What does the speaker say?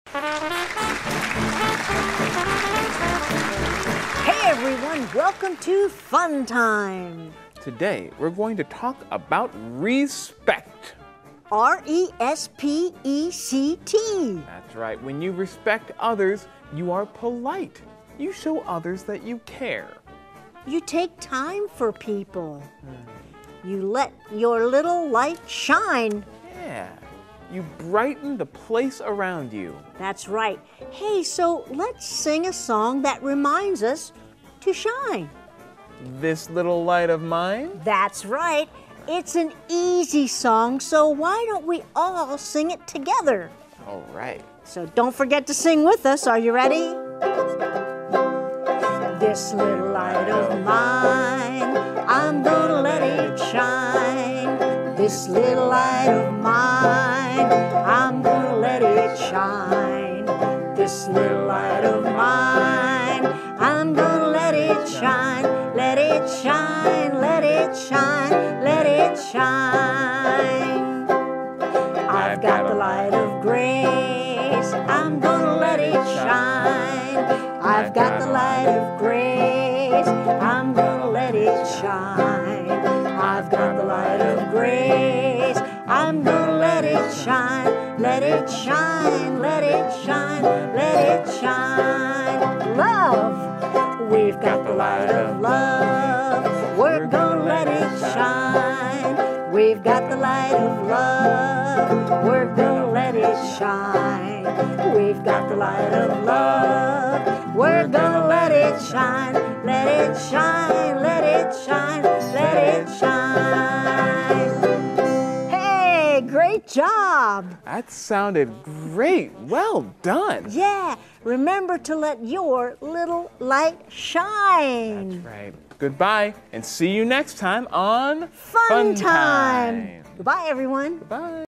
Hey everyone, welcome to Fun Time. Today, we're going to talk about respect. R-E-S-P-E-C-T. That's right. When you respect others, you are polite. You show others that you care. You take time for people. You let your little light shine. Yeah. You brighten the place around you. That's right. Hey, so let's sing a song that reminds us to shine. This little light of mine? That's right. It's an easy song, so why don't we all sing it together? All right. So don't forget to sing with us. Are you ready? This little light of mine, I'm gonna let it shine. This little light of mine, I'm gonna let it shine. This little light of mine, I'm gonna let it shine. Let it shine, let it shine, let it shine. I've got the light of grace, I'm gonna let it shine. I've got the light of grace, I'm gonna let it shine. I've got the light of grace, I'm gonna let it shine. Let it shine, let it shine, let it shine. Love, we've got the light of love, we're gonna let it shine. We've got the light of love, we're gonna let it shine. We've got the light of love, we're gonna let it shine. Let it shine, let it shine, let it shine. Hey, great job! That sounded great. Well done. Yeah, remember to let your little light shine. Right. Goodbye, and see you next time on Fun Time. Goodbye, everyone. Bye.